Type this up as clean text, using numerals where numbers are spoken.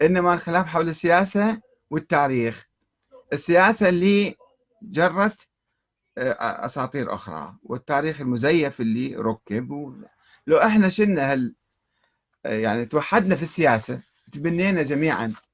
إنما الخلاف حول السياسة والتاريخ. السياسة اللي جرت أساطير أخرى، والتاريخ المزيف اللي ركب لو إحنا شلنا يعني توحدنا في السياسة، تبنينا جميعا